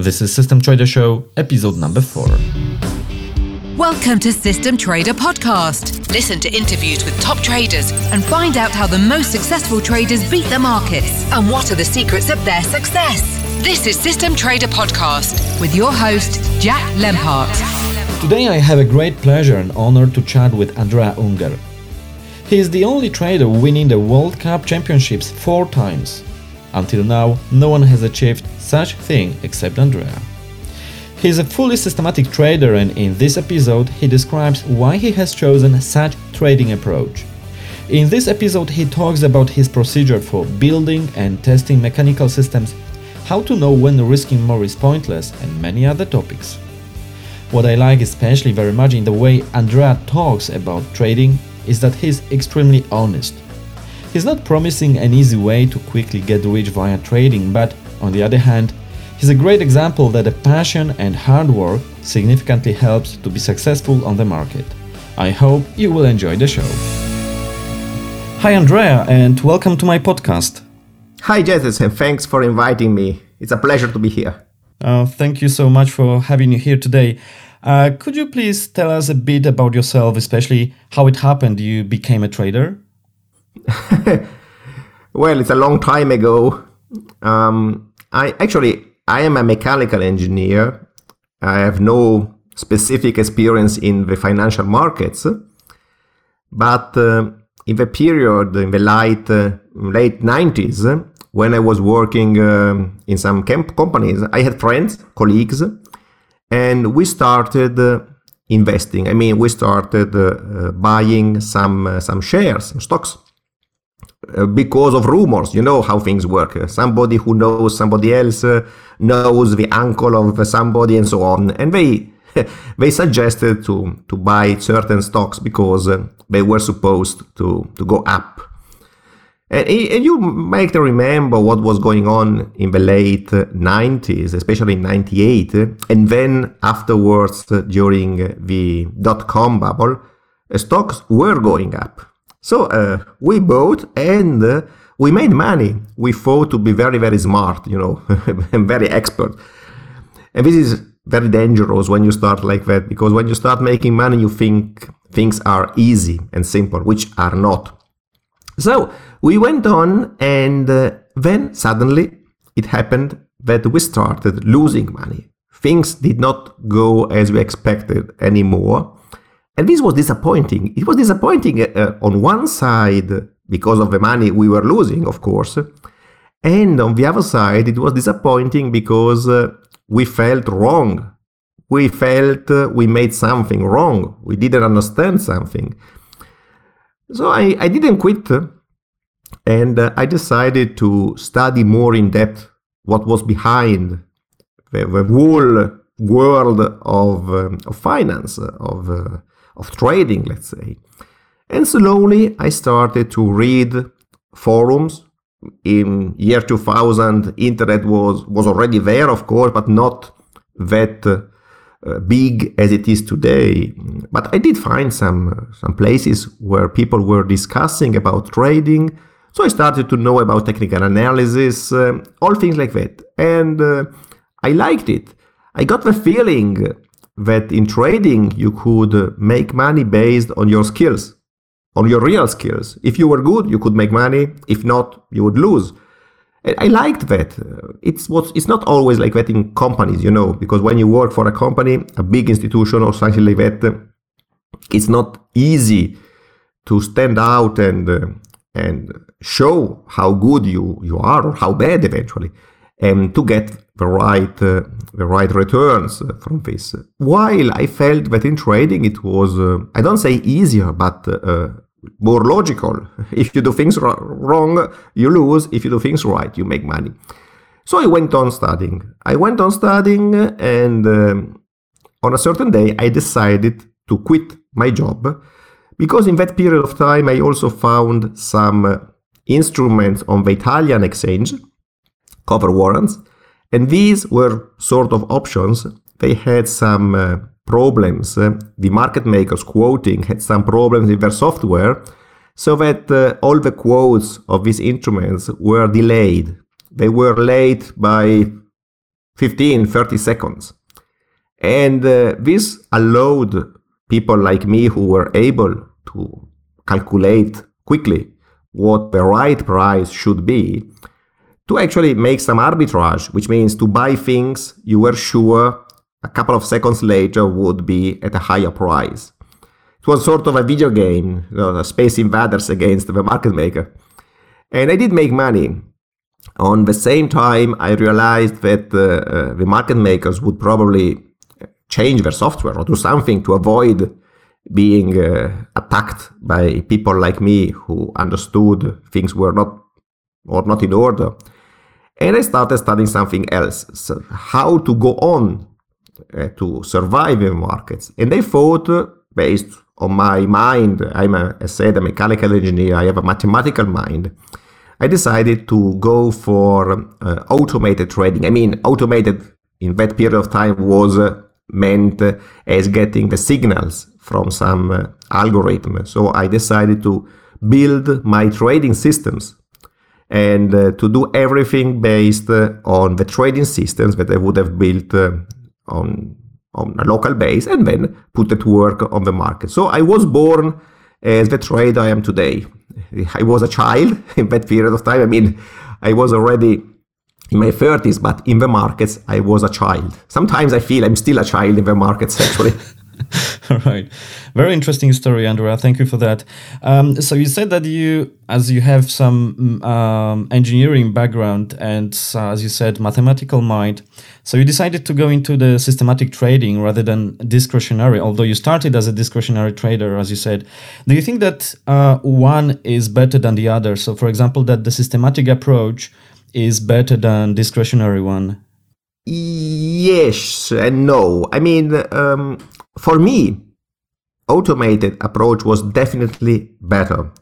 This is System Trader Show, episode number 4. Welcome to System Trader Podcast. Listen to interviews with top traders and find out how the most successful traders beat the markets and what are the secrets of their success. This is System Trader Podcast with your host, Jack Lempart. Today I have a great pleasure and honor to chat with Andrea Unger. He is the only trader winning the World Cup Championships 4 times. Until now, no one has achieved such thing except Andrea. He is a fully systematic trader, and in this episode he describes why he has chosen such trading approach. In this episode he talks about his procedure for building and testing mechanical systems, how to know when risking more is pointless, and many other topics. What I like especially very much in the way Andrea talks about trading is that he's extremely honest. He's not promising an easy way to quickly get rich via trading, but on the other hand, he's a great example that a passion and hard work significantly helps to be successful on the market. I hope you will enjoy the show. Hi Andrea, and welcome to my podcast. Hi Jess, and thanks for inviting me. It's a pleasure to be here. Thank you so much for having you here today. Could you please tell us a bit about yourself, especially how it happened you became a trader? Well, it's a long time ago. I am a mechanical engineer. I have no specific experience in the financial markets, but in the period, in the late 90s, when I was working in some companies, I had friends, colleagues, and we started investing. We started buying some shares, some stocks, because of rumors. You know how things work. Somebody who knows somebody else knows the uncle of somebody, and so on. And they suggested to buy certain stocks because they were supposed to go up. And you might remember what was going on in the late 90s, especially in 98, and then afterwards during the dot-com bubble, stocks were going up. So we bought and we made money. We thought to be very, very smart, and very expert. And this is very dangerous when you start like that, because when you start making money, you think things are easy and simple, which are not. So we went on, and then suddenly it happened that we started losing money. Things did not go as we expected anymore. And this was disappointing. It was disappointing on one side because of the money we were losing, of course. And on the other side, it was disappointing because we felt wrong. We felt we made something wrong. We didn't understand something. So I didn't quit, and I decided to study more in depth what was behind the whole world of finance, of trading, let's say. And slowly I started to read forums. In year 2000, internet was already there, of course, but not that big as it is today. But I did find some places where people were discussing about trading. So I started to know about technical analysis, all things like that. And I liked it. I got the feeling that in trading you could make money based on your skills, on your real skills. If you were good, you could make money. If not, you would lose. I liked that. It's not always like that in companies, because when you work for a company, a big institution or something like that, it's not easy to stand out and show how good you are, or how bad eventually, and to get the right returns from this. While I felt that in trading it was, I don't say easier, but more logical. If you do things wrong, you lose. If you do things right, you make money. So I went on studying. And on a certain day, I decided to quit my job, because in that period of time, I also found some instruments on the Italian exchange, cover warrants, and these were sort of options. They had some problems. The market makers quoting had some problems in their software, so that all the quotes of these instruments were delayed. They were late by 15, 30 seconds. And this allowed people like me who were able to calculate quickly what the right price should be to actually make some arbitrage, which means to buy things you were sure a couple of seconds later would be at a higher price. It was sort of a video game, Space Invaders against the market maker. And I did make money. On the same time, I realized that the market makers would probably change their software or do something to avoid being attacked by people like me who understood things were not in order. And I started studying something else, so how to go on to survive in markets. And I thought, based on my mind, as I said, a mechanical engineer, I have a mathematical mind. I decided to go for automated trading. I mean, automated in that period of time was meant as getting the signals from some algorithm. So I decided to build my trading systems and to do everything based on the trading systems that I would have built on a local base and then put it to work on the market. So I was born as the trader I am today. I was a child in that period of time. I mean, I was already in my 30s, but in the markets, I was a child. Sometimes I feel I'm still a child in the markets, actually. All right. Very interesting story, Andrea. Thank you for that. So you said that as you have some engineering background and, as you said, mathematical mind, so you decided to go into the systematic trading rather than discretionary, although you started as a discretionary trader, as you said. Do you think that one is better than the other? So, for example, that the systematic approach is better than discretionary one? Yes and no. I mean, for me, automated approach was definitely better.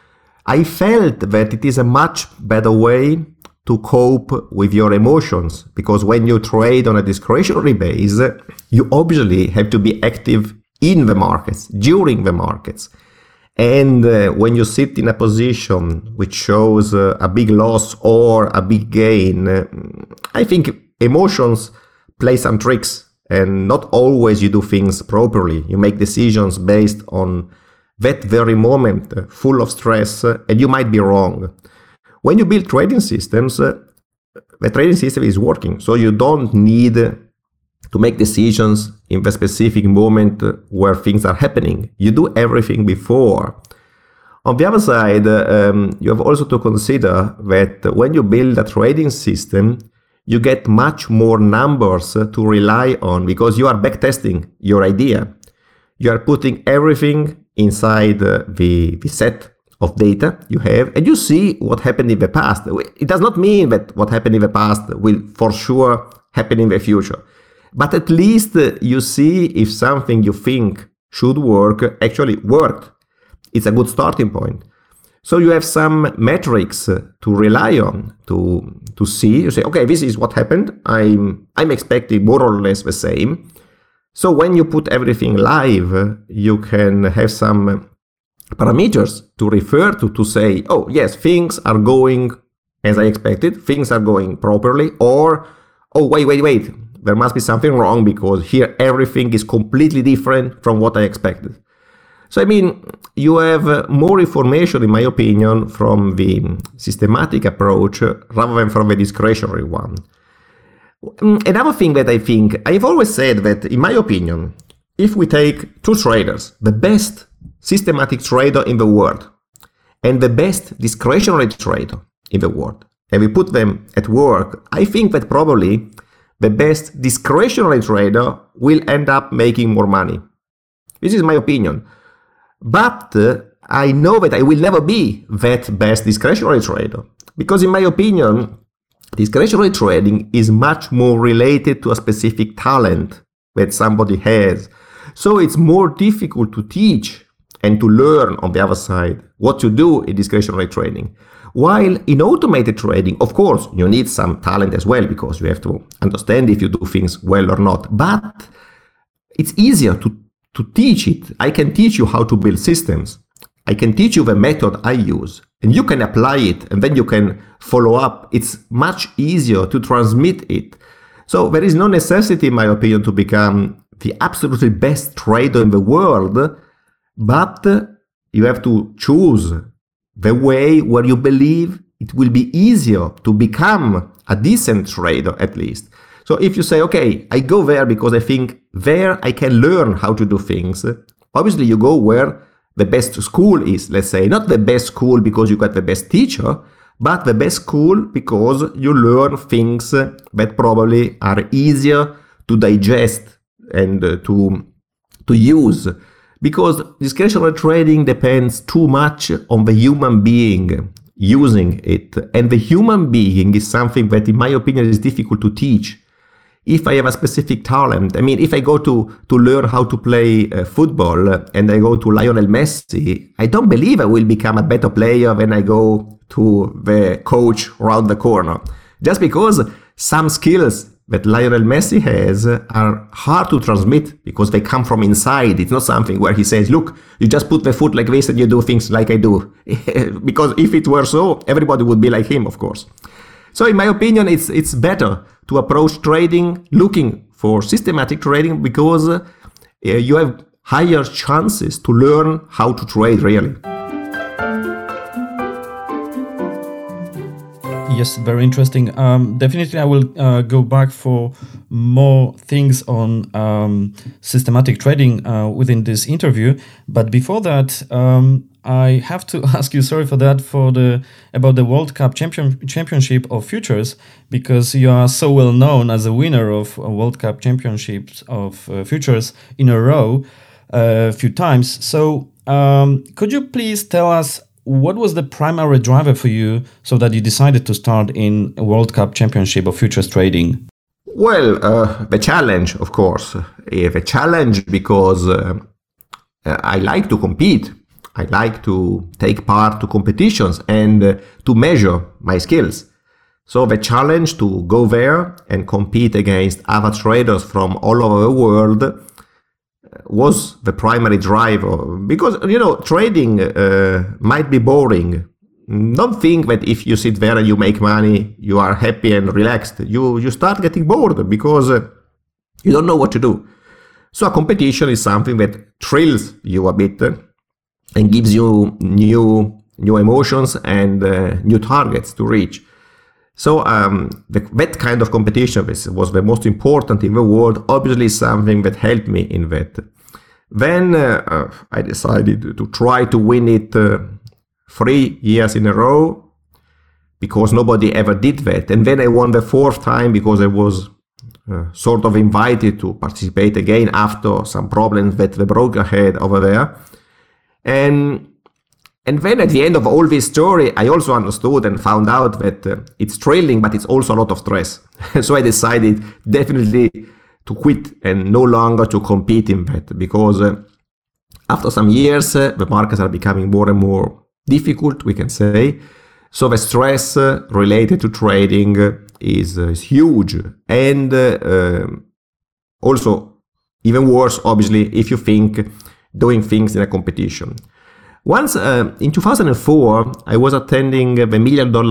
I felt that it is a much better way to cope with your emotions, because when you trade on a discretionary base, you obviously have to be active in the markets, during the markets. And when you sit in a position which shows a big loss or a big gain, I think emotions play some tricks. And not always you do things properly. You make decisions based on that very moment, full of stress, and you might be wrong. When you build trading systems, the trading system is working. So you don't need to make decisions in the specific moment where things are happening. You do everything before. On the other side, you have also to consider that when you build a trading system, you get much more numbers to rely on because you are backtesting your idea. You are putting everything inside the set of data you have, and you see what happened in the past. It does not mean that what happened in the past will for sure happen in the future. But at least you see if something you think should work actually worked. It's a good starting point. So you have some metrics to rely on to see. You say, okay, this is what happened. I'm expecting more or less the same. So when you put everything live, you can have some parameters to refer to say, oh yes, things are going as I expected. Things are going properly. Or, oh, wait. There must be something wrong because here everything is completely different from what I expected. So, I mean, you have more information, in my opinion, from the systematic approach rather than from the discretionary one. Another thing that I think, I've always said that, in my opinion, if we take two traders, the best systematic trader in the world and the best discretionary trader in the world, and we put them at work, I think that probably the best discretionary trader will end up making more money. This is my opinion. But I know that I will never be that best discretionary trader because, in my opinion, discretionary trading is much more related to a specific talent that somebody has. So it's more difficult to teach and to learn on the other side what to do in discretionary trading. While in automated trading, of course, you need some talent as well because you have to understand if you do things well or not. But it's easier to teach it. I can teach you how to build systems. I can teach you the method I use and you can apply it and then you can follow up. It's much easier to transmit it. So there is no necessity, in my opinion, to become the absolutely best trader in the world, but you have to choose the way where you believe it will be easier to become a decent trader, at least. So if you say, okay, I go there because I think there I can learn how to do things, obviously you go where the best school is, let's say. Not the best school because you got the best teacher, but the best school because you learn things that probably are easier to digest and to use. Because discretionary trading depends too much on the human being using it. And the human being is something that, in my opinion, is difficult to teach. If I have a specific talent, I mean, if I go to learn how to play football and I go to Lionel Messi, I don't believe I will become a better player when I go to the coach around the corner. Just because some skills that Lionel Messi has are hard to transmit because they come from inside. It's not something where he says, look, you just put the foot like this and you do things like I do. Because if it were so, everybody would be like him, of course. So in my opinion, it's better to approach trading looking for systematic trading because you have higher chances to learn how to trade really. Yes, very interesting. Definitely, I will go back for more things on systematic trading within this interview. But before that, I have to ask you, sorry for that, about the World Cup Championship of Futures, because you are so well known as a winner of World Cup Championships of Futures in a row a few times. So could you please tell us what was the primary driver for you so that you decided to start in a World Cup Championship of Futures trading? Well, the challenge, of course. The challenge because I like to compete. I like to take part to competitions and to measure my skills. So the challenge to go there and compete against other traders from all over the world was the primary driver. Because, trading might be boring. Don't think that if you sit there and you make money, you are happy and relaxed. You start getting bored because you don't know what to do. So a competition is something that thrills you a bit and gives you new emotions and new targets to reach. So that kind of competition was the most important in the world, obviously something that helped me in that. Then I decided to try to win it 3 years in a row because nobody ever did that. And then I won the 4th time because I was sort of invited to participate again after some problems that the broker had over there. And then at the end of all this story, I also understood and found out that it's thrilling, but it's also a lot of stress. So I decided definitely to quit and no longer to compete in that, because after some years, the markets are becoming more and more difficult, we can say. So the stress related to trading is huge. And also, even worse, obviously, if you think doing things in a competition. Once in 2004, I was attending the $1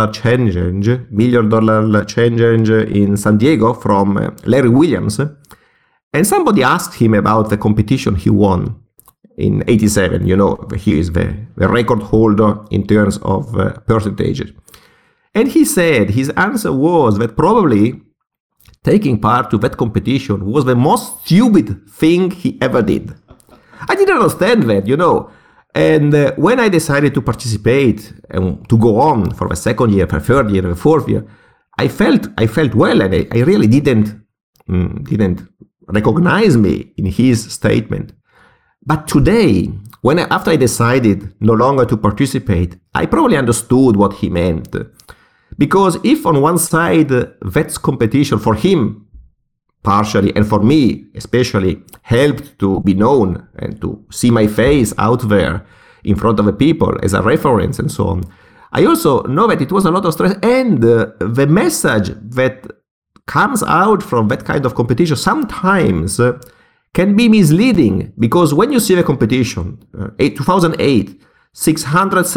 million challenge in San Diego from Larry Williams, and somebody asked him about the competition he won in '87. He is the record holder in terms of percentages. And he said his answer was that probably taking part to that competition was the most stupid thing he ever did. I didn't understand that, And when I decided to participate and to go on for the 2nd year, for the 3rd year, the 4th year, I felt well, and I really didn't recognize me in his statement. But today, after I decided no longer to participate, I probably understood what he meant. Because if on one side that's competition for him, partially, and for me especially, helped to be known and to see my face out there in front of the people as a reference and so on, I also know that it was a lot of stress, and the message that comes out from that kind of competition sometimes can be misleading, because when you see the competition, 2008,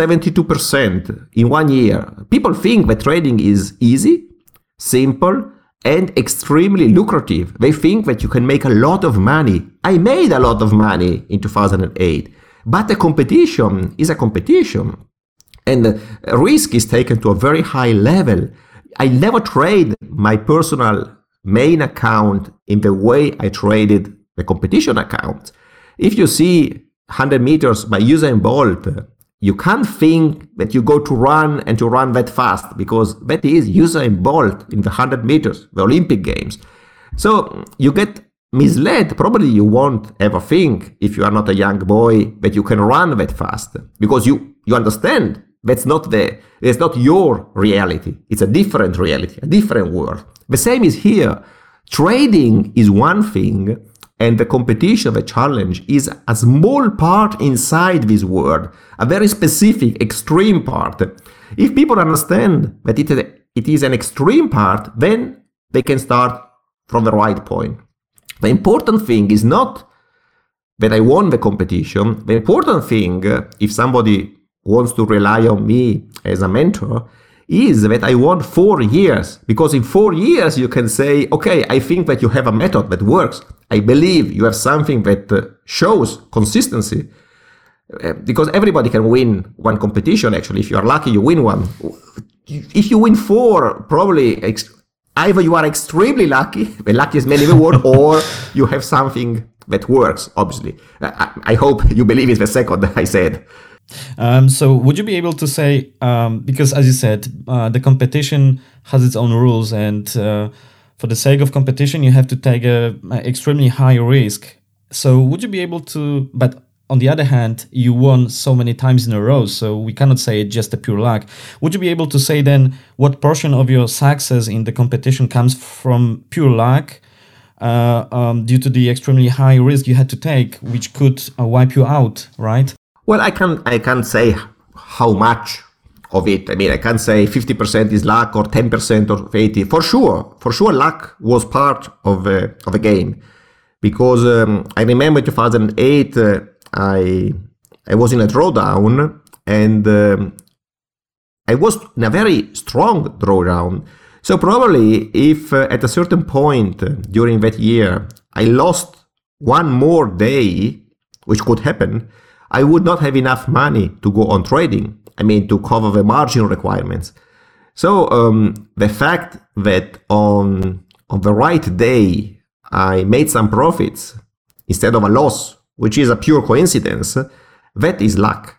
672% in 1 year, people think that trading is easy, simple, and extremely lucrative. They think that you can make a lot of money. I made a lot of money in 2008, but a competition is a competition, and risk is taken to a very high level. I never trade my personal main account in the way I traded the competition account. If you see 100 meters by Usain Bolt, you can't think that you go to run and to run that fast, because that is Usain Bolt in the 100 meters, the Olympic Games. So you get misled. Probably you won't ever think, if you are not a young boy, that you can run that fast, because you understand that's not your reality. It's a different reality, a different world. The same is here. Trading is one thing, and the competition, the challenge, is a small part inside this world, a very specific, extreme part. If people understand that it is an extreme part, then they can start from the right point. The important thing is not that I won the competition. The important thing, if somebody wants to rely on me as a mentor, is that I won 4 years. Because in 4 years you can say, okay, I think that you have a method that works. I believe you have something that shows consistency. Because everybody can win one competition, actually. If you are lucky, you win one. If you win 4, probably either you are extremely lucky, the luckiest man in the world, or you have something that works, obviously. I hope you believe it's the second I said. So would you be able to say, because as you said, the competition has its own rules, and for the sake of competition, you have to take a extremely high risk. So would you be able to, but on the other hand, you won so many times in a row, so we cannot say it's just a pure luck. Would you be able to say then what portion of your success in the competition comes from pure luck, due to the extremely high risk you had to take, which could wipe you out, right? Well, I can't say how much of it. I mean, I can't say 50% is luck or 10% or 80%. For sure, luck was part of the game, because I remember 2008. I was in a drawdown, and I was in a very strong drawdown. So probably if at a certain point during that year I lost one more day, which could happen, I would not have enough money to go on trading. I mean, to cover the margin requirements. So the fact that on the right day I made some profits instead of a loss, which is a pure coincidence, that is luck.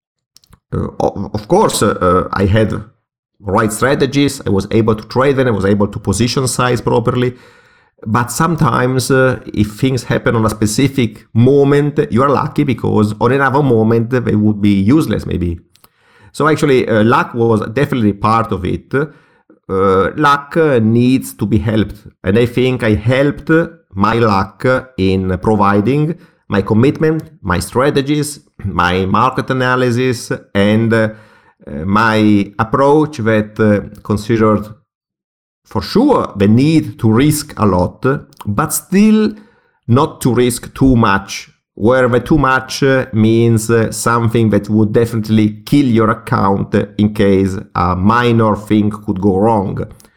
Of course, I had right strategies. I was able to trade them. I was able to position size properly. But sometimes, if things happen on a specific moment, you are lucky, because on another moment they would be useless, maybe. So actually, luck was definitely part of it. Luck needs to be helped, and I think I helped my luck in providing my commitment, my strategies, my market analysis, and my approach that considered for sure the need to risk a lot, but still not to risk too much, where the too much means something that would definitely kill your account in case a minor thing could go wrong.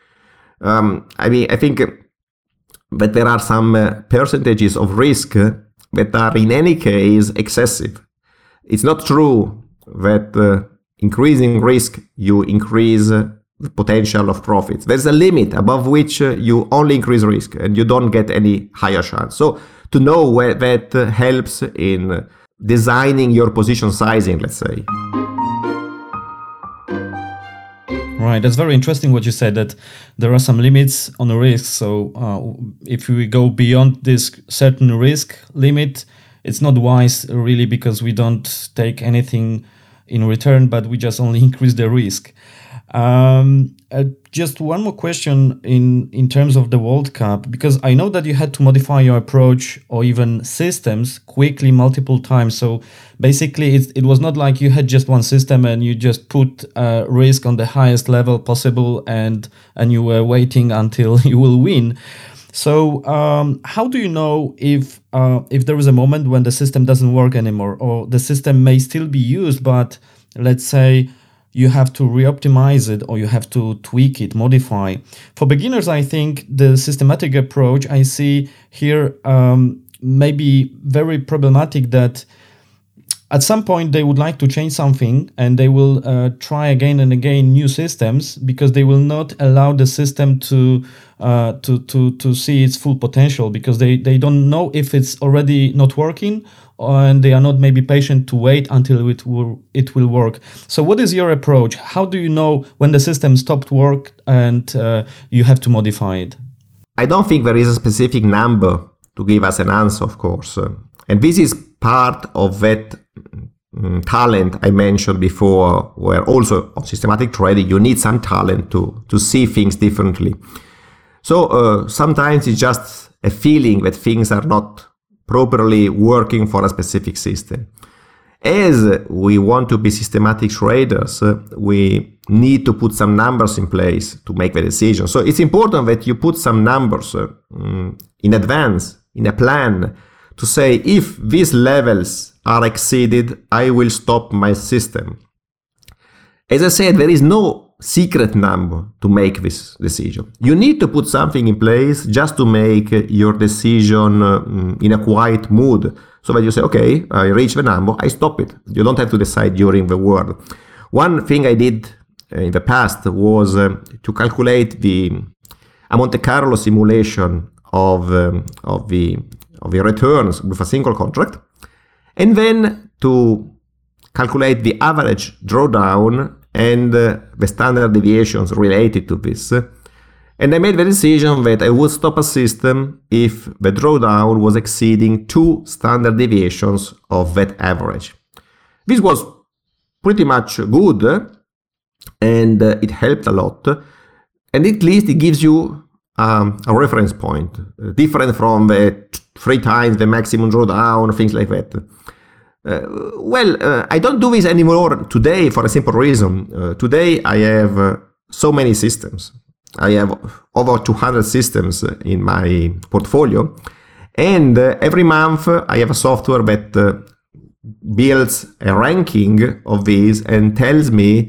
I think that there are some percentages of risk that are in any case excessive. It's not true that increasing risk, you increase the potential of profits. There's a limit above which you only increase risk and you don't get any higher chance. So to know where that helps in designing your position sizing, let's say. Right, that's very interesting what you said, that there are some limits on the risk. So if we go beyond this certain risk limit, it's not wise really, because we don't take anything in return, but we just only increase the risk. Just one more question in terms of the World Cup, because I know that you had to modify your approach or even systems quickly multiple times. So basically it was not like you had just one system and you just put risk on the highest level possible and you were waiting until you will win. So how do you know if there is a moment when the system doesn't work anymore, or the system may still be used, but let's say you have to re-optimize it or you have to tweak it, modify. For beginners, I think the systematic approach I see here may be very problematic, that at some point they would like to change something and they will try again and again new systems, because they will not allow the system to see its full potential, because they don't know if it's already not working, and they are not maybe patient to wait until it will work. So what is your approach? How do you know when the system stopped work and you have to modify it? I don't think there is a specific number to give us an answer, of course. And this is part of that talent I mentioned before, where also on systematic trading, you need some talent to see things differently. So sometimes it's just a feeling that things are not properly working for a specific system. As we want to be systematic traders, we need to put some numbers in place to make the decision. So it's important that you put some numbers in advance, in a plan, to say, if these levels are exceeded, I will stop my system. As I said, there is no secret number to make this decision. You need to put something in place just to make your decision in a quiet mood, so that you say, okay, I reach the number, I stop it. You don't have to decide during the word. One thing I did in the past was to calculate a Monte Carlo simulation of the returns with a single contract, and then to calculate the average drawdown and the standard deviations related to this. And I made the decision that I would stop a system if the drawdown was exceeding 2 standard deviations of that average. This was pretty much good, and it helped a lot. And at least it gives you a reference point, different from the 3 times the maximum drawdown, things like that. I don't do this anymore today for a simple reason. Today I have so many systems. I have over 200 systems in my portfolio, and every month I have a software that builds a ranking of these and tells me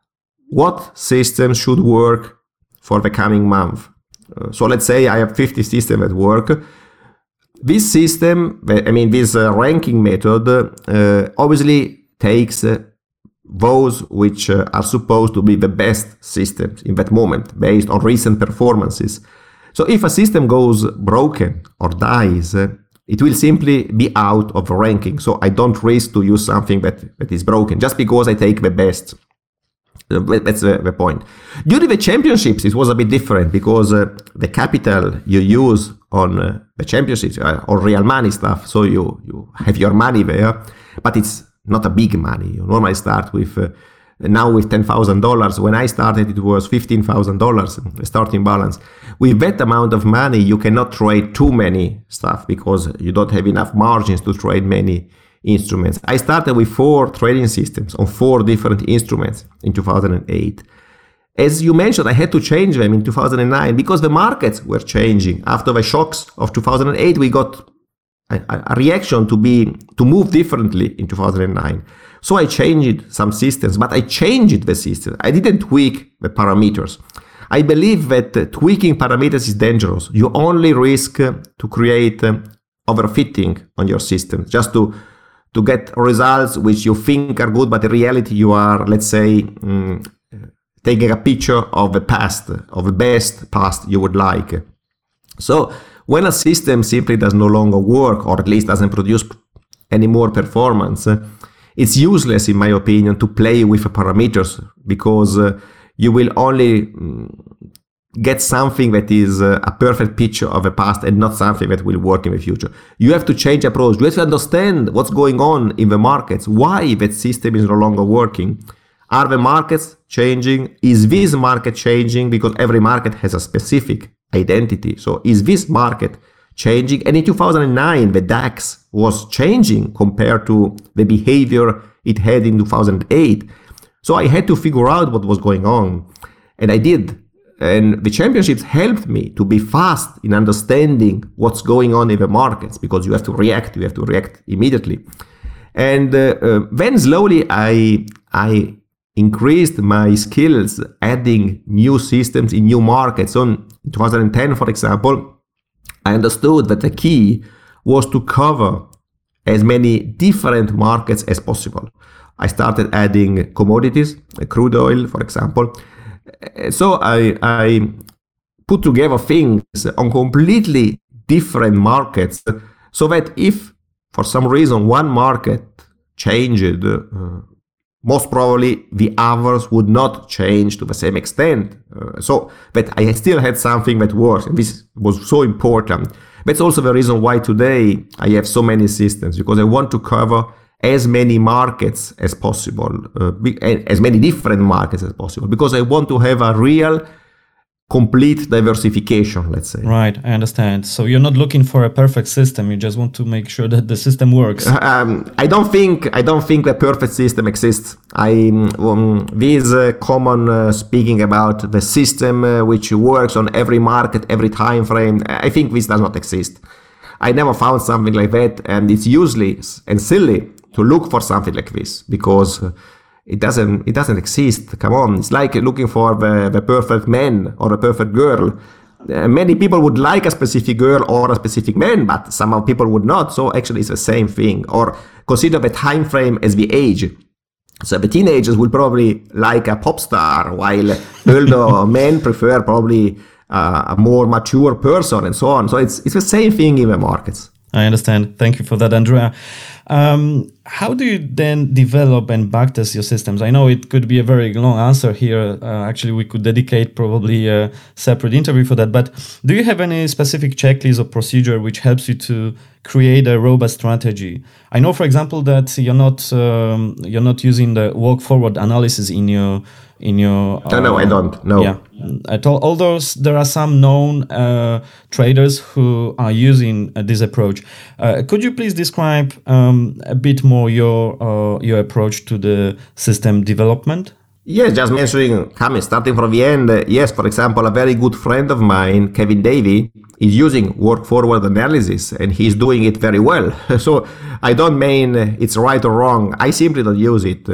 what systems should work for the coming month. So let's say I have 50 systems at work. This system, this ranking method obviously takes those which are supposed to be the best systems in that moment based on recent performances. So if a system goes broken or dies, it will simply be out of the ranking. So I don't risk to use something that is broken just because I take the best. That's the point. During the championships, it was a bit different because the capital you use on the championships or real money stuff, so you have your money there, but it's not a big money. You normally start with now with $10,000. When I started, it was $15,000, the starting balance. With that amount of money, you cannot trade too many stuff because you don't have enough margins to trade many instruments. I started with 4 trading systems on 4 different instruments in 2008. As you mentioned, I had to change them in 2009 because the markets were changing. After the shocks of 2008, we got a reaction to move differently in 2009. So I changed some systems, but I changed the system. I didn't tweak the parameters. I believe that tweaking parameters is dangerous. You only risk to create overfitting on your system, just to get results which you think are good, but in reality you are, let's say, taking a picture of the past, of the best past you would like. So when a system simply does no longer work, or at least doesn't produce any more performance, it's useless, in my opinion, to play with the parameters, because you will only get something that is a perfect picture of the past and not something that will work in the future. You have to change approach. You have to understand what's going on in the markets, why that system is no longer working. Are the markets changing? Is this market changing? Because every market has a specific identity. So is this market changing? And in 2009, the DAX was changing compared to the behavior it had in 2008. So I had to figure out what was going on. And I did. And the championships helped me to be fast in understanding what's going on in the markets, because you have to react immediately. And then slowly I increased my skills adding new systems in new markets. So in 2010, for example, I understood that the key was to cover as many different markets as possible. I started adding commodities, crude oil, for example. So I put together things on completely different markets, so that if for some reason one market changed, most probably the others would not change to the same extent. So that I still had something that works, and this was so important. That's also the reason why today I have so many systems, because I want to cover as many markets as possible, as many different markets as possible, because I want to have a real complete diversification, let's say. Right, I understand. So you're not looking for a perfect system. You just want to make sure that the system works. I don't think the perfect system exists. This common speaking about the system which works on every market, every time frame. I think this does not exist. I never found something like that, and it's useless and silly to look for something like this, because it doesn't exist. Come on, it's like looking for the perfect man or a perfect girl. Many people would like a specific girl or a specific man, but some people would not. So actually it's the same thing. Or consider the time frame as the age. So the teenagers would probably like a pop star, while older men prefer probably a more mature person, and so on. So it's the same thing in the markets. I understand. Thank you for that, Andrea. How do you then develop and backtest your systems? I know it could be a very long answer here. Actually, we could dedicate probably a separate interview for that. But do you have any specific checklist or procedure which helps you to create a robust strategy? I know, for example, that you're not using the walk forward analysis in your. No, I don't. No. Yeah. Although there are some known traders who are using this approach. Could you please describe a bit more your approach to the system development? Yes, just starting from the end. Yes, for example, a very good friend of mine, Kevin Davey, is using walk forward analysis, and he's doing it very well. So I don't mean it's right or wrong. I simply don't use it.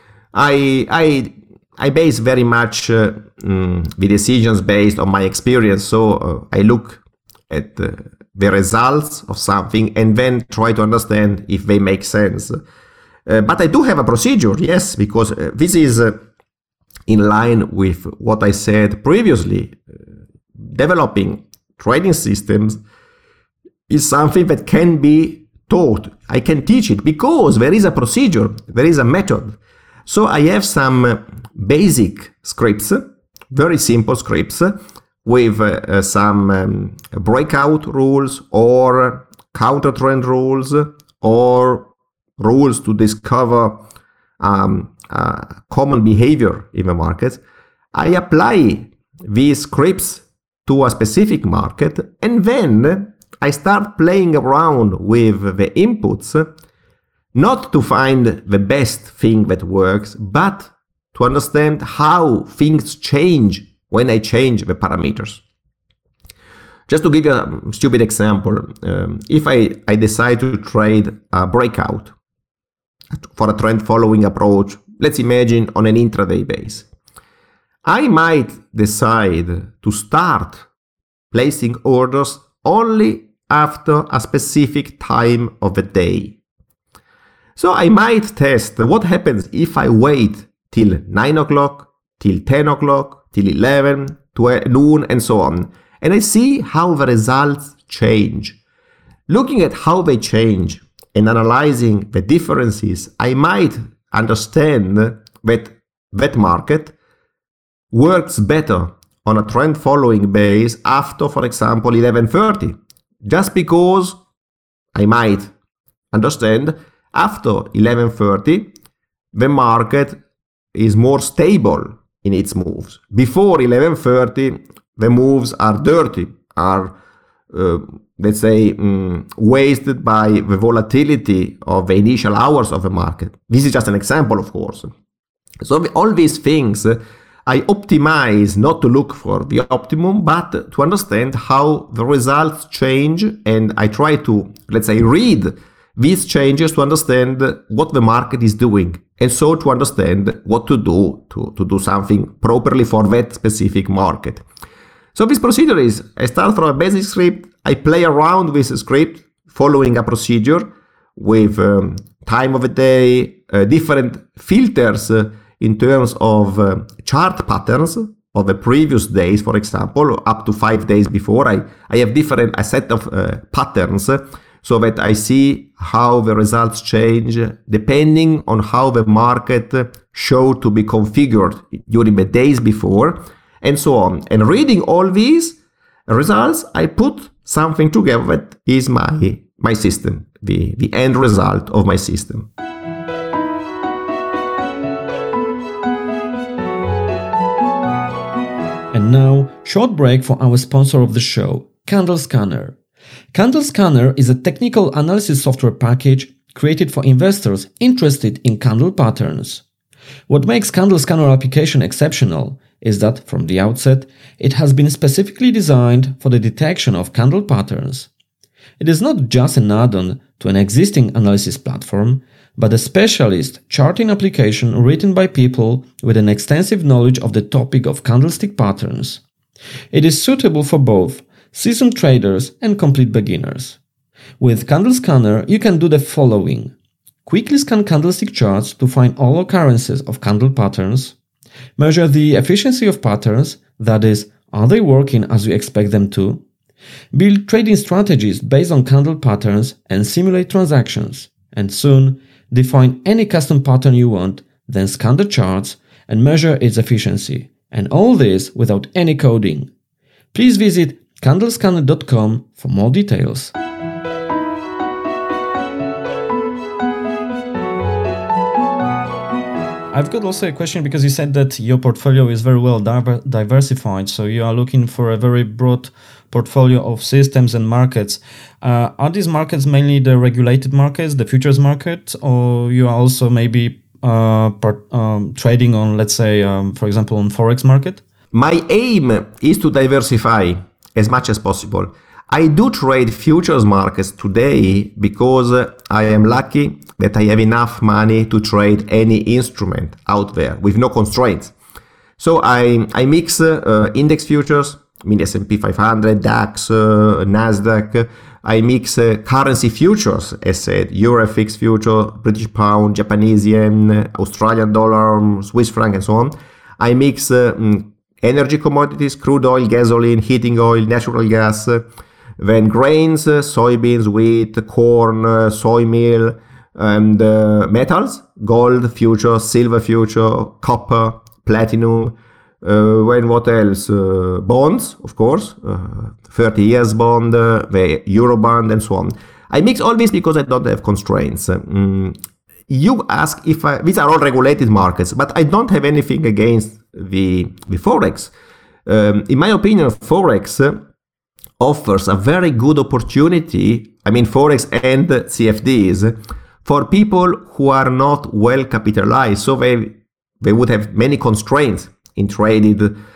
I base very much the decisions based on my experience. So I look at the results of something and then try to understand if they make sense. But I do have a procedure, yes, because this is in line with what I said previously. Developing trading systems is something that can be taught. I can teach it because there is a procedure, there is a method. So I have some basic scripts, very simple scripts, with some breakout rules or counter trend rules or rules to discover common behavior in the markets. I apply these scripts to a specific market, and then I start playing around with the inputs, not to find the best thing that works, but to understand how things change when I change the parameters. Just to give you a stupid example, if I decide to trade a breakout for a trend following approach, let's imagine on an intraday base, I might decide to start placing orders only after a specific time of the day. So I might test what happens if I wait till 9 o'clock, till 10 o'clock, till 11, noon, and so on. And I see how the results change. Looking at how they change and analyzing the differences, I might understand that that market works better on a trend following base after, for example, 11:30. Just because I might understand after 11:30, the market is more stable in its moves. Before 11:30, the moves are dirty, are, let's say, wasted by the volatility of the initial hours of the market. This is just an example, of course. So all these things, I optimize not to look for the optimum, but to understand how the results change, and I try to, let's say, read these changes to understand what the market is doing, and so to understand what to do something properly for that specific market. So this procedure is, I start from a basic script, I play around with the script, following a procedure with time of the day, different filters in terms of chart patterns of the previous days, for example, up to 5 days before. I have a set of patterns so that I see how the results change depending on how the market showed to be configured during the days before, and so on. And reading all these results, I put something together that is my system, the end result of my system. And now, short break for our sponsor of the show, Candle Scanner. Candle Scanner is a technical analysis software package created for investors interested in candle patterns. What makes Candle Scanner application exceptional is that, from the outset, it has been specifically designed for the detection of candle patterns. It is not just an add-on to an existing analysis platform, but a specialist charting application written by people with an extensive knowledge of the topic of candlestick patterns. It is suitable for both seasoned traders and complete beginners. With Candle Scanner, you can do the following. Quickly scan candlestick charts to find all occurrences of candle patterns. Measure the efficiency of patterns, that is, are they working as you expect them to? Build trading strategies based on candle patterns and simulate transactions. And soon, define any custom pattern you want, then scan the charts and measure its efficiency. And all this without any coding. Please visit candlescanner.com for more details. I've got also a question, because you said that your portfolio is very well diversified, so you are looking for a very broad portfolio of systems and markets. Are these markets mainly the regulated markets, the futures market, or you are also maybe trading on, let's say, for example, on Forex market? My aim is to diversify as much as possible. I do trade futures markets today because I am lucky that I have enough money to trade any instrument out there with no constraints. So I mix index futures, S&P 500, DAX, Nasdaq. I mix currency futures, as said, Euro FX future, British pound, Japanese yen, Australian dollar, Swiss franc, and so on. I mix energy commodities, crude oil, gasoline, heating oil, natural gas, then grains, soybeans, wheat, corn, soy meal, and metals, gold future, silver future, copper, platinum, what else? Bonds, of course, 30 years bond, the euro bond, and so on. I mix all this because I don't have constraints. You ask if these are all regulated markets, but I don't have anything against the Forex. In my opinion, Forex offers a very good opportunity, Forex and CFDs, for people who are not well capitalized. So they would have many constraints in trading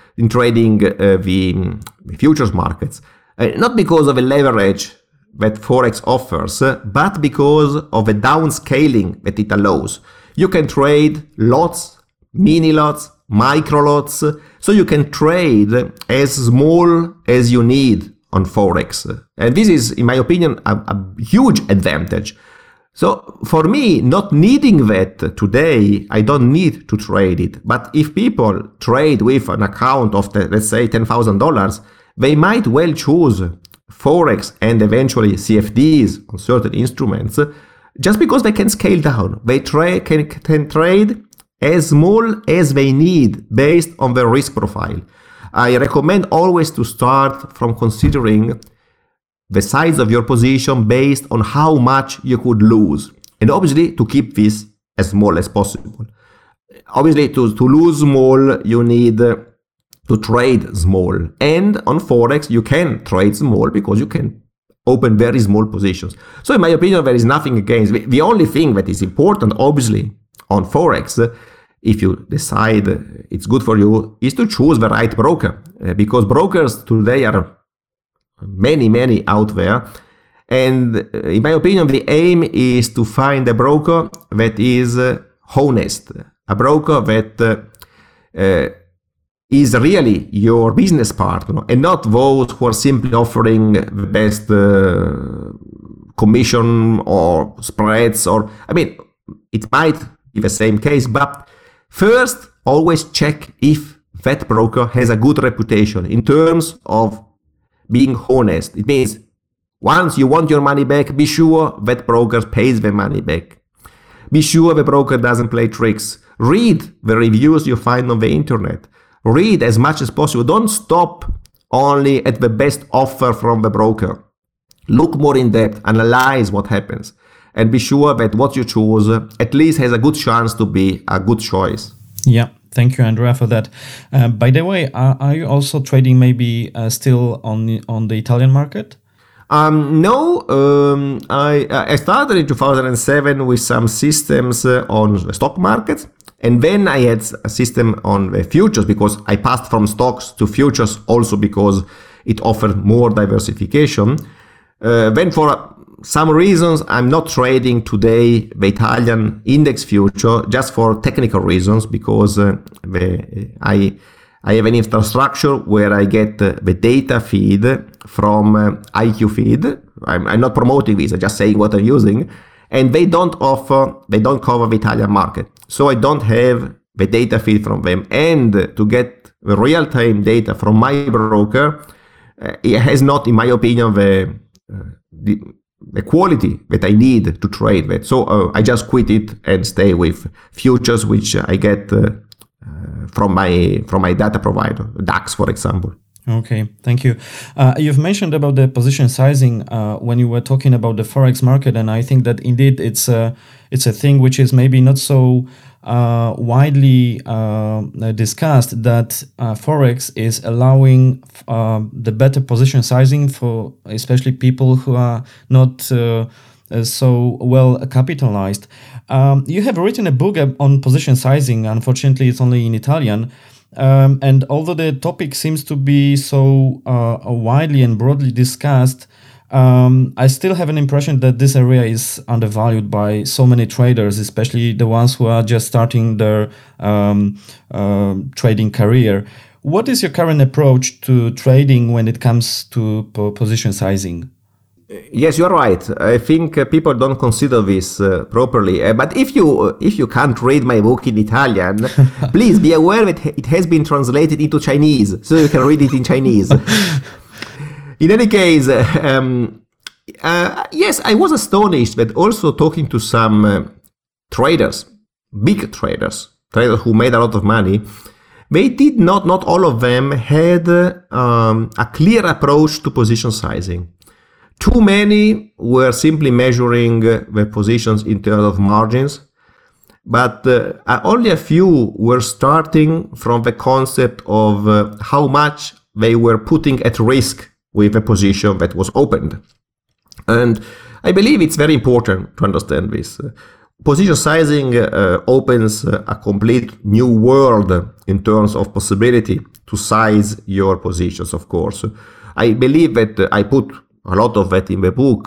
the futures markets. Not because of the leverage that Forex offers, but because of the downscaling that it allows. You can trade lots, mini lots, micro lots, so you can trade as small as you need on Forex. And this is, in my opinion, a huge advantage. So for me, not needing that today, I don't need to trade it. But if people trade with an account of, let's say, $10,000, they might well choose Forex and eventually CFDs on certain instruments just because they can scale down. They can trade as small as they need based on their risk profile. I recommend always to start from considering the size of your position based on how much you could lose. And obviously to keep this as small as possible. Obviously to lose small, you need to trade small. And on Forex, you can trade small because you can open very small positions. So in my opinion, there is nothing against. The only thing that is important, obviously, on Forex, if you decide it's good for you, is to choose the right broker. Because brokers today are many out there. And in my opinion, the aim is to find a broker that is honest, a broker that is really your business partner, and not those who are simply offering the best commission or spreads. Or, I mean, it might be the same case, but first, always check if that broker has a good reputation in terms of being honest. It means once you want your money back, be sure that broker pays the money back. Be sure the broker doesn't play tricks. Read the reviews you find on the internet. Read as much as possible. Don't stop only at the best offer from the broker. Look more in depth, analyze what happens, and be sure that what you choose at least has a good chance to be a good choice. Yeah, thank you, Andrea, for that. By the way, are you also trading maybe still on the Italian market? No, I started in 2007 with some systems on the stock market. And then I had a system on the futures, because I passed from stocks to futures also because it offered more diversification. Then for some reasons, I'm not trading today the Italian index future, just for technical reasons, because I have an infrastructure where I get the data feed from IQ Feed. I'm not promoting this, I'm just saying what I'm using. And they don't cover the Italian market. So I don't have the data feed from them. And to get the real-time data from my broker, it has not, in my opinion, the quality that I need to trade with. So I just quit it and stay with futures, which I get from my data provider, DAX, for example. Okay, thank you. You've mentioned about the position sizing when you were talking about the Forex market, and I think that indeed it's a thing which is maybe not so widely discussed, that Forex is allowing the better position sizing for especially people who are not so well capitalized. You have written a book on position sizing. Unfortunately, it's only in Italian. And although the topic seems to be so widely and broadly discussed, I still have an impression that this area is undervalued by so many traders, especially the ones who are just starting their trading career. What is your current approach to trading when it comes to position sizing? Yes, you're right. I think people don't consider this properly. But if you can't read my book in Italian, please be aware that it has been translated into Chinese, so you can read it in Chinese. In any case, yes, I was astonished that also talking to some traders, big traders who made a lot of money, they did not all of them had a clear approach to position sizing. Too many were simply measuring the positions in terms of margins, but only a few were starting from the concept of how much they were putting at risk with a position that was opened. And I believe it's very important to understand this. Position sizing opens a complete new world in terms of possibility to size your positions, of course. I believe that I put a lot of that in the book.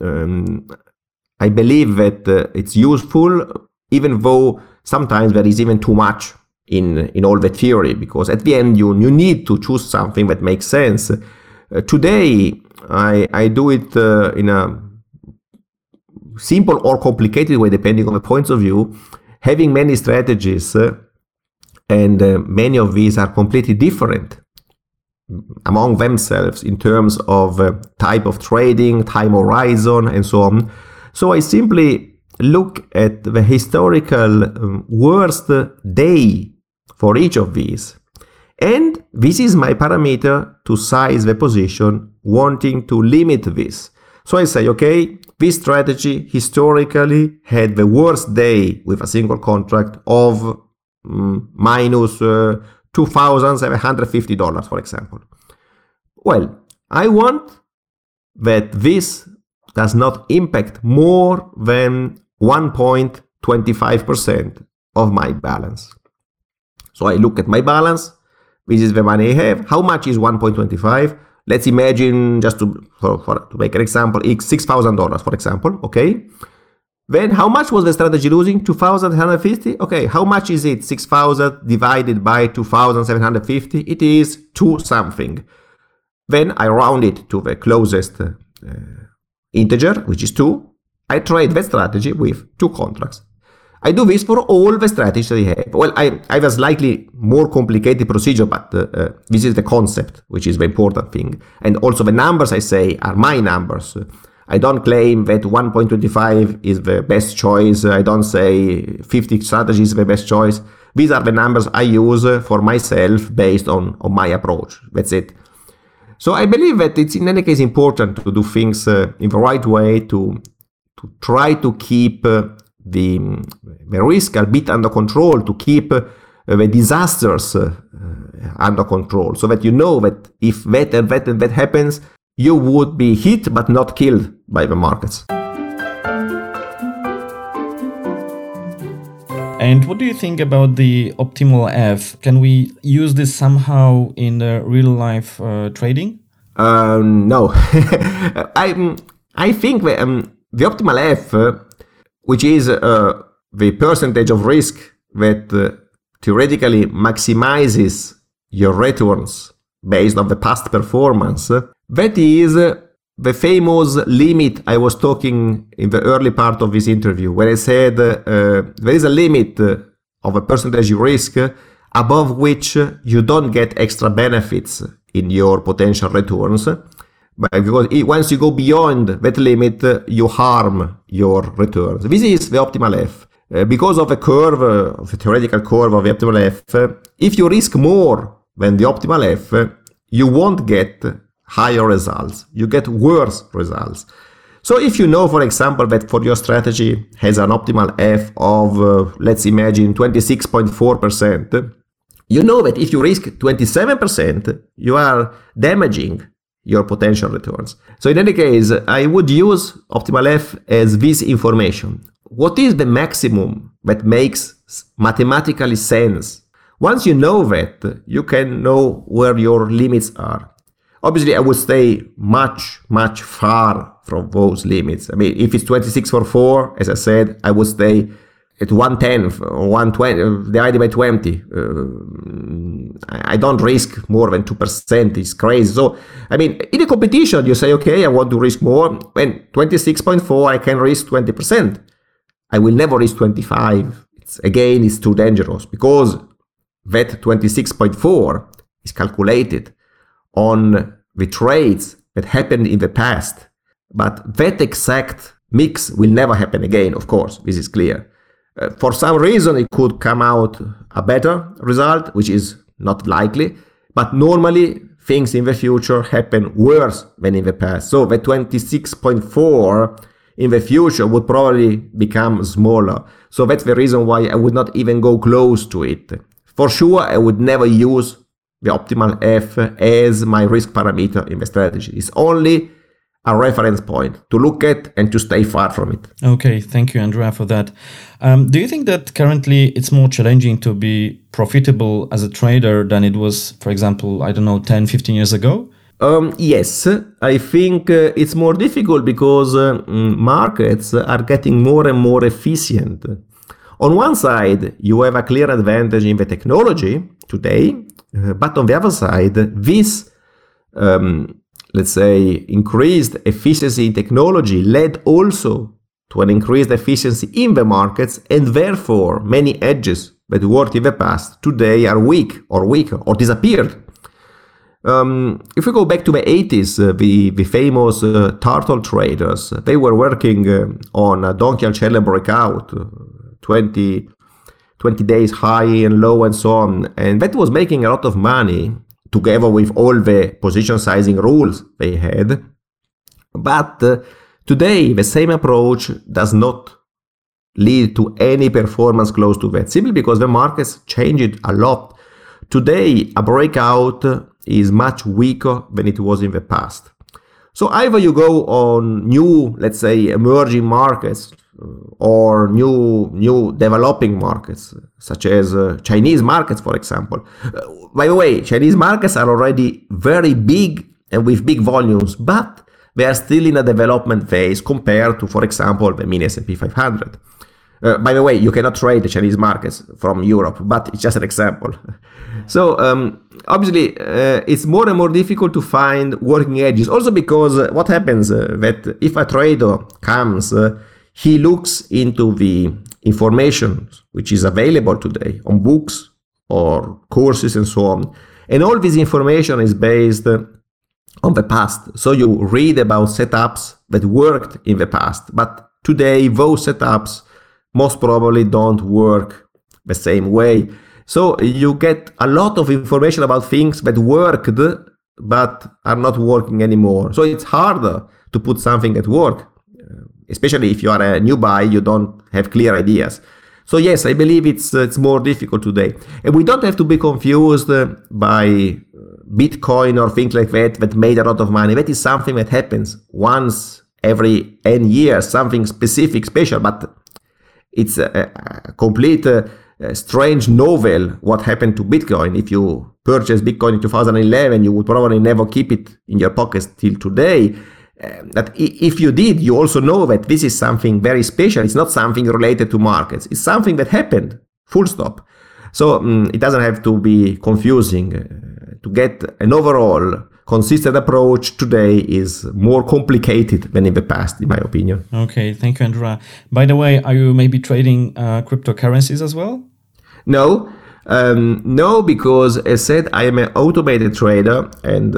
I believe that it's useful, even though sometimes there is even too much in all the theory, because at the end you need to choose something that makes sense. Today, I do it in a simple or complicated way, depending on the points of view, having many strategies, and many of these are completely different among themselves in terms of type of trading, time horizon, and so on. So I simply look at the historical worst day for each of these. And this is my parameter to size the position, wanting to limit this. So I say, okay, this strategy historically had the worst day with a single contract of minus $2,750, for example. Well, I want that this does not impact more than 1.25% of my balance. So I look at my balance. This is the money I have. How much is 1.25? let's imagine, just to make an example, $6,000, for example, okay? Then how much was the strategy losing? 2,750? Okay, how much is it? 6,000 divided by 2,750? It is 2 something. Then I round it to the closest integer, which is 2. I trade that strategy with 2 contracts. I do this for all the strategies that I have. Well, I have a slightly more complicated procedure, but this is the concept, which is the important thing. And also the numbers I say are my numbers. I don't claim that 1.25 is the best choice. I don't say 50 strategies is the best choice. These are the numbers I use for myself based on my approach. That's it. So I believe that it's in any case important to do things in the right way, to try to keep the risk a bit under control, to keep the disasters under control, so that you know that if that and that and that happens, you would be hit but not killed by the markets. And what do you think about the optimal F? Can we use this somehow in the real life trading? No. I think the optimal F, which is the percentage of risk that theoretically maximizes your returns based on the past performance, that is the famous limit I was talking in the early part of this interview, where I said there is a limit of a percentage risk above which you don't get extra benefits in your potential returns. Because once you go beyond that limit, you harm your returns. This is the optimal F. Because of the curve, of the theoretical curve of the optimal F, if you risk more than the optimal F, you won't get higher results. You get worse results. So if you know, for example, that for your strategy has an optimal F of, let's imagine, 26.4%, you know that if you risk 27%, you are damaging your potential returns. So in any case, I would use optimal F as this information. What is the maximum that makes mathematically sense? Once you know that, you can know where your limits are. Obviously, I would stay much, much far from those limits. I mean, if it's 26.4, as I said, I would stay at 1/10 or 1/20 divided by 20. I don't risk more than 2%. It's crazy. So, I mean, in a competition, you say, okay, I want to risk more. When 26.4, I can risk 20%. I will never risk 25. It's too dangerous, because that 26.4 is calculated on the trades that happened in the past. But that exact mix will never happen again, of course. This is clear. For some reason, it could come out a better result, which is not likely. But normally, things in the future happen worse than in the past. So the 26.4 in the future would probably become smaller. So that's the reason why I would not even go close to it. For sure, I would never use the optimal F as my risk parameter in the strategy. It's only a reference point to look at and to stay far from it. Okay, thank you, Andrea, for that. Do you think that currently it's more challenging to be profitable as a trader than it was, for example, 10, 15 years ago? Yes, I think it's more difficult because markets are getting more and more efficient. On one side, you have a clear advantage in the technology today, but on the other side, this let's say, increased efficiency in technology led also to an increased efficiency in the markets, and therefore many edges that worked in the past today are weak or weaker or disappeared. If we go back to the 80s, the famous turtle traders, they were working on a Donchian-Shelley breakout, 20 days high and low and so on, and that was making a lot of money, together with all the position sizing rules they had. But today, the same approach does not lead to any performance close to that, simply because the markets changed a lot. Today, a breakout is much weaker than it was in the past. So either you go on new, let's say, emerging markets or new developing markets, such as Chinese markets, for example. By the way, Chinese markets are already very big and with big volumes, but they are still in a development phase compared to, for example, the mini S&P 500. By the way, you cannot trade the Chinese markets from Europe, but it's just an example. So obviously, it's more and more difficult to find working edges. Also because what happens that if a trader comes, he looks into the information which is available today on books or courses and so on. And all this information is based on the past. So you read about setups that worked in the past, but today those setups most probably don't work the same way. So you get a lot of information about things that worked but are not working anymore. So it's harder to put something at work, especially if you are a new buy, you don't have clear ideas. So yes, I believe it's more difficult today. And we don't have to be confused by Bitcoin or things like that made a lot of money. That is something that happens once every N years, something specific, special, but it's a complete strange novel what happened to Bitcoin. If you purchased Bitcoin in 2011, you would probably never keep it in your pockets till today. That if you did, you also know that this is something very special. It's not something related to markets. It's something that happened, full stop. So it doesn't have to be confusing. To get an overall consistent approach today is more complicated than in the past, in my opinion. Okay, thank you, Andrea. By the way, are you maybe trading cryptocurrencies as well? No, because as said, I am an automated trader, and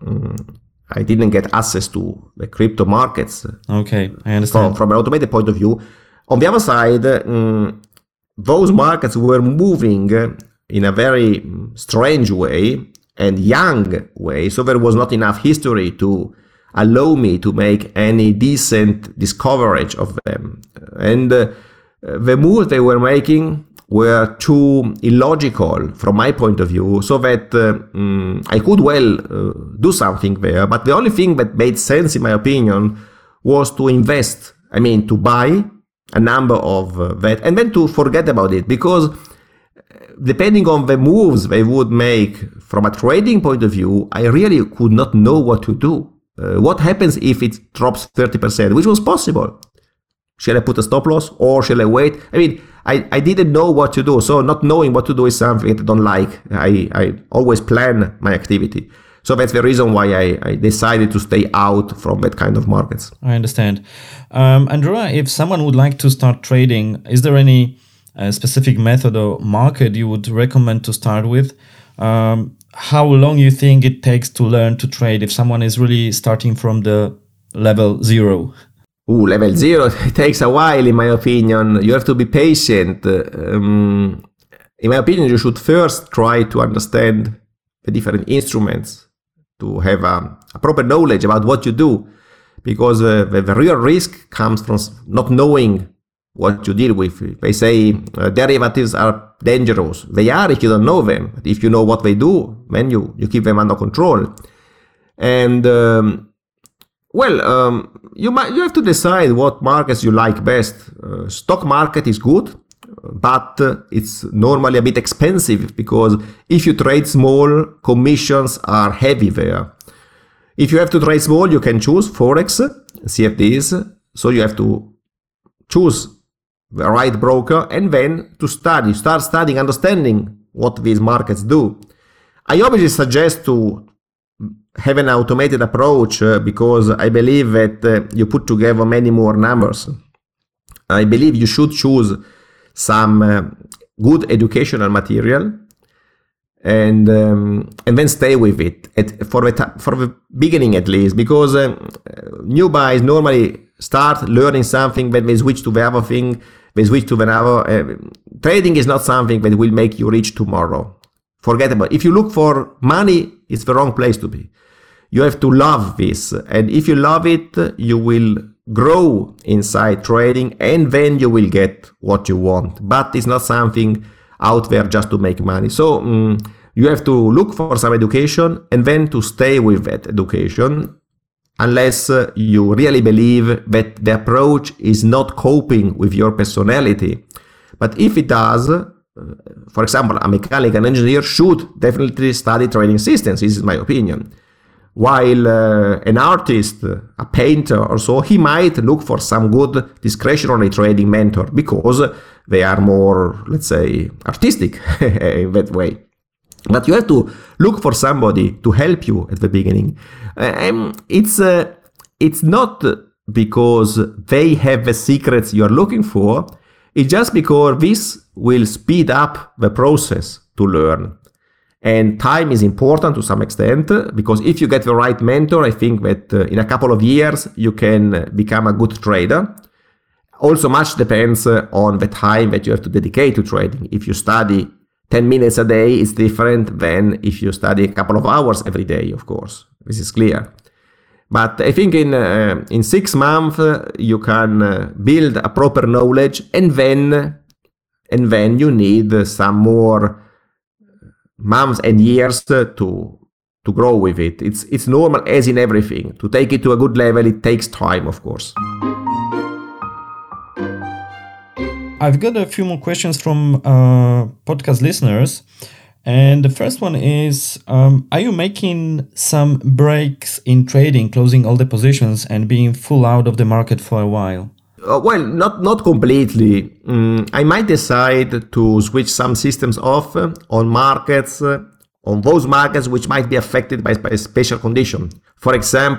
I didn't get access to the crypto markets. Okay, I understand. From an automated point of view. On the other side, those markets were moving in a very strange way and young way, so there was not enough history to allow me to make any decent discovery of them. And the moves they were making were too illogical from my point of view, so that I could well do something there. But the only thing that made sense, in my opinion, was to invest. I mean, to buy a number of that and then to forget about it, because depending on the moves they would make from a trading point of view, I really could not know what to do. What happens if it drops 30%, which was possible? Shall I put a stop loss or shall I wait? I mean, I didn't know what to do. So not knowing what to do is something that I don't like. I always plan my activity. So that's the reason why I decided to stay out from that kind of markets. I understand. Andrea, if someone would like to start trading, is there any specific method or market you would recommend to start with? How long you think it takes to learn to trade if someone is really starting from the level 0? Level 0, it takes a while, in my opinion. You have to be patient. In my opinion, you should first try to understand the different instruments, to have a proper knowledge about what you do, because the real risk comes from not knowing what you deal with. They say derivatives are dangerous. They are if you don't know them. But if you know what they do, then you keep them under control. And you have to decide what markets you like best. Stock market is good, but it's normally a bit expensive, because if you trade small, commissions are heavy there. If you have to trade small, you can choose Forex, CFDs. So you have to choose the right broker and then to start studying, understanding what these markets do. I obviously suggest to have an automated approach because I believe that you put together many more numbers. I believe you should choose some good educational material and then stay with it for the beginning at least, because new buys normally start learning something, then they switch to the other thing, they switch to another. Trading is not something that will make you rich tomorrow. Forget about it. If you look for money, it's the wrong place to be. You have to love this, and if you love it, you will grow inside trading, and then you will get what you want. But it's not something out there just to make money. So you have to look for some education and then to stay with that education, unless you really believe that the approach is not coping with your personality. But if it does, for example, a mechanical engineer should definitely study trading systems. This is my opinion. While an artist, a painter or so, he might look for some good discretionary trading mentor because they are more, let's say, artistic in that way. But you have to look for somebody to help you at the beginning. It's not because they have the secrets you're looking for. It's just because this will speed up the process to learn. And time is important to some extent, because if you get the right mentor, I think that in a couple of years you can become a good trader. Also, much depends on the time that you have to dedicate to trading. If you study 10 minutes a day, it's different than if you study a couple of hours every day, of course. This is clear. But I think in 6 months you can build a proper knowledge, and then you need some more months and years to grow with it. It's normal, as in everything. To take it to a good level, it takes time, of course. I've got a few more questions from podcast listeners. And the first one is, are you making some breaks in trading, closing all the positions and being full out of the market for a while? Well, not completely. I might decide to switch some systems off on markets, on those markets which might be affected by a special condition. For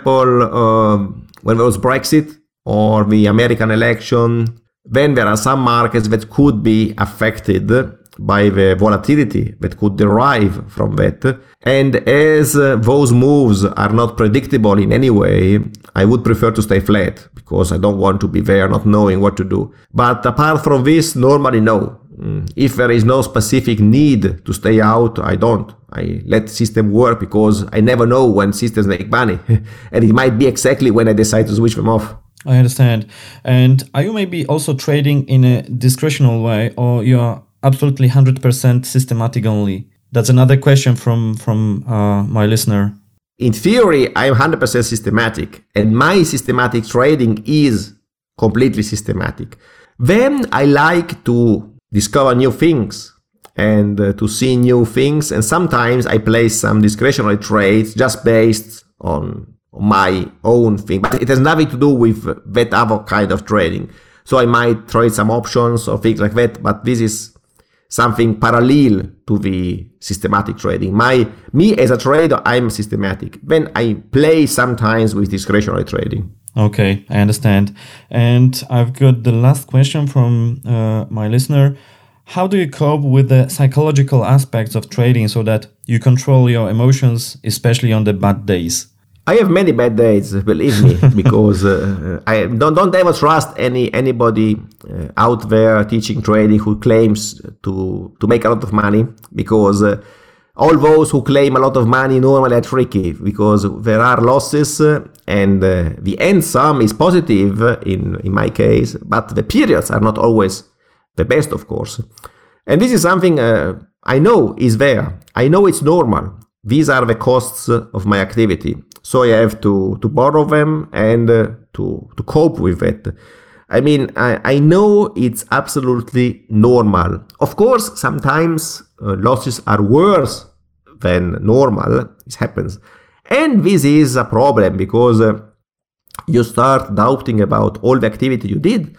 example, when there was Brexit or the American election, then there are some markets that could be affected by the volatility that could derive from that. And as those moves are not predictable in any way, I would prefer to stay flat because I don't want to be there not knowing what to do. But apart from this, normally no. If there is no specific need to stay out, I don't. I let the system work because I never know when systems make money. And it might be exactly when I decide to switch them off. I understand. And are you maybe also trading in a discretional way, or you are absolutely 100% systematic only? That's another question from my listener. In theory, I'm 100% systematic, and my systematic trading is completely systematic. Then I like to discover new things and to see new things, and sometimes I place some discretionary trades just based on my own thing, but it has nothing to do with that other kind of trading. So I might trade some options or things like that, but this is something parallel to the systematic trading. Me as a trader, I'm systematic. Then I play sometimes with discretionary trading. Okay, I understand. And I've got the last question from my listener. How do you cope with the psychological aspects of trading so that you control your emotions, especially on the bad days? I have many bad days, believe me, because I don't ever trust anybody out there teaching trading who claims to make a lot of money, because all those who claim a lot of money normally are tricky, because there are losses and the end sum is positive in my case, but the periods are not always the best, of course. And this is something I know is there. I know it's normal. These are the costs of my activity. So I have to borrow them and to cope with it. I mean, I know it's absolutely normal. Of course, sometimes losses are worse than normal. This happens. And this is a problem because you start doubting about all the activity you did.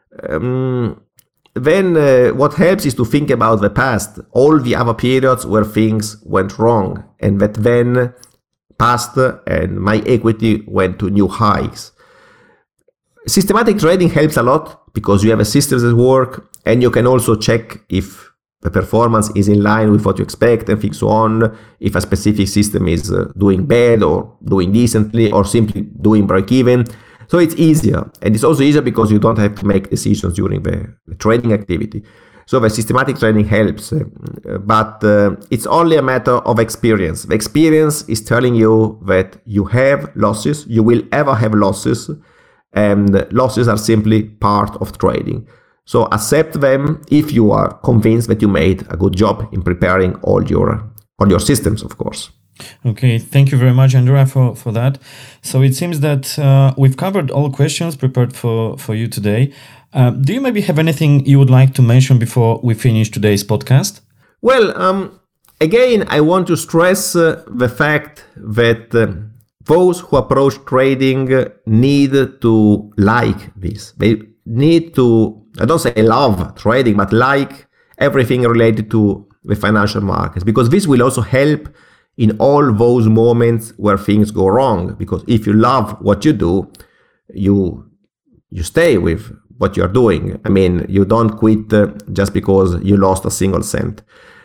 Then what helps is to think about the past, all the other periods where things went wrong, and that then passed and my equity went to new highs. Systematic trading helps a lot because you have a system that works, and you can also check if the performance is in line with what you expect and things so on, if a specific system is doing bad or doing decently or simply doing break-even. So it's easier, and it's also easier because you don't have to make decisions during the trading activity. So the systematic trading helps, but it's only a matter of experience. The experience is telling you that you have losses, you will ever have losses, and losses are simply part of trading. So accept them if you are convinced that you made a good job in preparing all your systems, of course. Okay, thank you very much, Andrea, for that. So it seems that we've covered all questions prepared for you today. Do you maybe have anything you would like to mention before we finish today's podcast? Well, again, I want to stress the fact that those who approach trading need to like this. They need to, I don't say love trading, but like everything related to the financial markets, because this will also help in all those moments where things go wrong. Because if you love what you do, you stay with what you're doing. I mean, you don't quit just because you lost a single cent.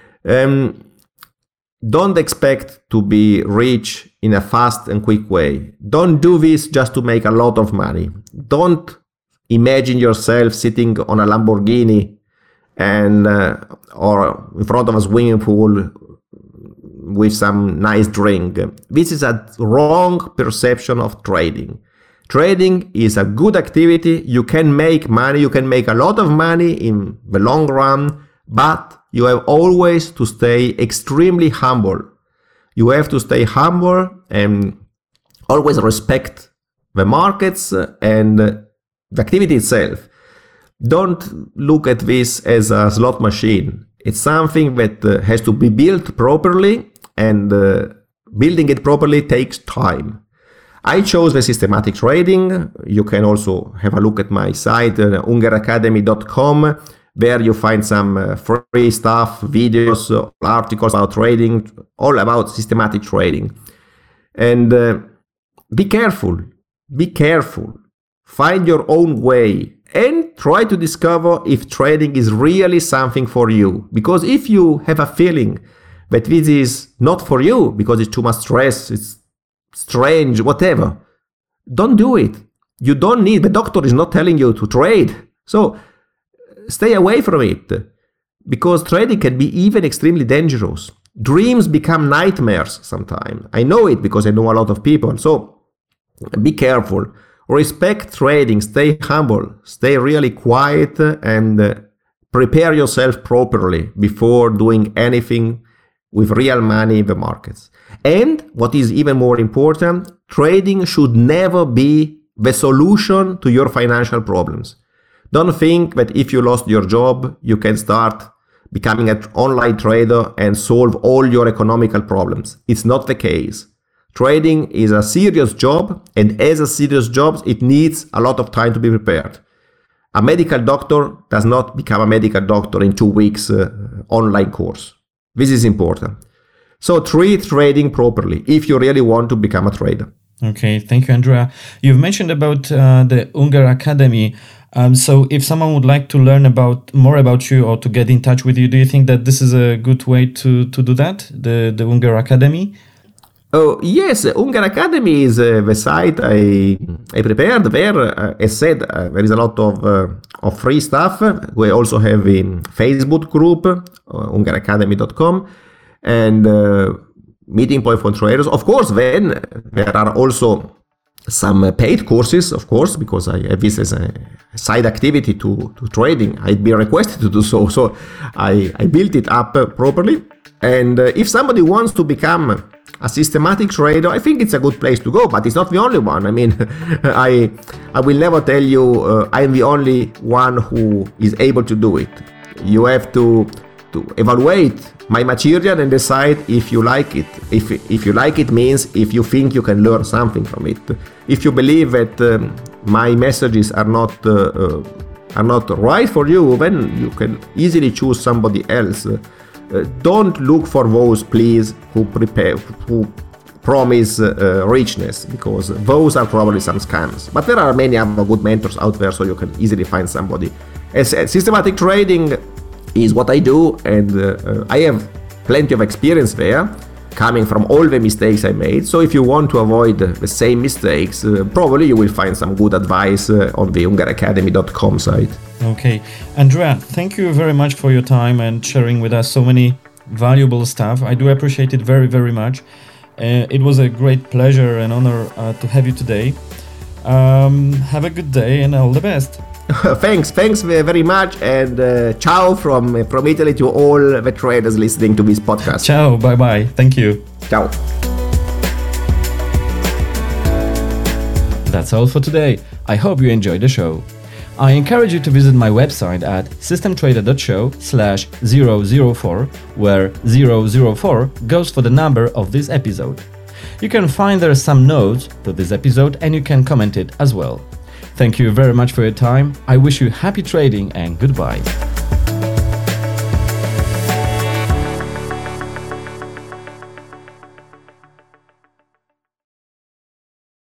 Don't expect to be rich in a fast and quick way. Don't do this just to make a lot of money. Don't imagine yourself sitting on a Lamborghini and or in front of a swimming pool with some nice drink. This is a wrong perception of trading. Trading is a good activity. You can make money. You can make a lot of money in the long run, but you have always to stay extremely humble. You have to stay humble and always respect the markets and the activity itself. Don't look at this as a slot machine. It's something that has to be built properly, and building it properly takes time. I chose the systematic trading. You can also have a look at my site, ungeracademy.com. There you find some free stuff, videos, articles about trading, all about systematic trading. And be careful. Find your own way and try to discover if trading is really something for you. Because if you have a feeling that this is not for you because it's too much stress, it's strange, whatever, don't do it. You don't need, the doctor is not telling you to trade. So stay away from it, because trading can be even extremely dangerous. Dreams become nightmares sometimes. I know it because I know a lot of people. So be careful. Respect trading. Stay humble. Stay really quiet and prepare yourself properly before doing anything with real money in the markets. And what is even more important, trading should never be the solution to your financial problems. Don't think that if you lost your job, you can start becoming an online trader and solve all your economical problems. It's not the case. Trading is a serious job, and as a serious job, it needs a lot of time to be prepared. A medical doctor does not become a medical doctor in 2 weeks online course. This is important. So treat trading properly if you really want to become a trader. Okay, thank you, Andrea. You've mentioned about the Unger Academy. So if someone would like to learn more about you or to get in touch with you, do you think that this is a good way to do that, the Unger Academy? Oh, yes, Unger Academy is the site I prepared there. As said, there is a lot of free stuff. We also have a Facebook group, ungeracademy.com, and meeting point for traders. Of course, then there are also some paid courses, of course, because I have this as a side activity to trading. I'd be requested to do so. So I built it up properly. And if somebody wants to become a systematic trader, I think it's a good place to go, but it's not the only one. I mean, I will never tell you I'm the only one who is able to do it. You have to evaluate my material and decide if you like it. If you like it means if you think you can learn something from it. If you believe that my messages are not right for you, then you can easily choose somebody else. Don't look for those, please, who promise richness, because those are probably some scams. But there are many other good mentors out there, so you can easily find somebody. As systematic trading is what I do, and I have plenty of experience there, coming from all the mistakes I made. So if you want to avoid the same mistakes, probably you will find some good advice on the ungeracademy.com site. Okay. Andrea, thank you very much for your time and sharing with us so many valuable stuff. I do appreciate it very, very much. It was a great pleasure and honor to have you today. Have a good day and all the best. Thanks very much, and ciao from Italy to all the traders listening to this podcast. Ciao, bye-bye. Thank you. Ciao. That's all for today. I hope you enjoyed the show. I encourage you to visit my website at systemtrader.show/004, where 004 goes for the number of this episode. You can find there some notes to this episode and you can comment it as well. Thank you very much for your time. I wish you happy trading and goodbye.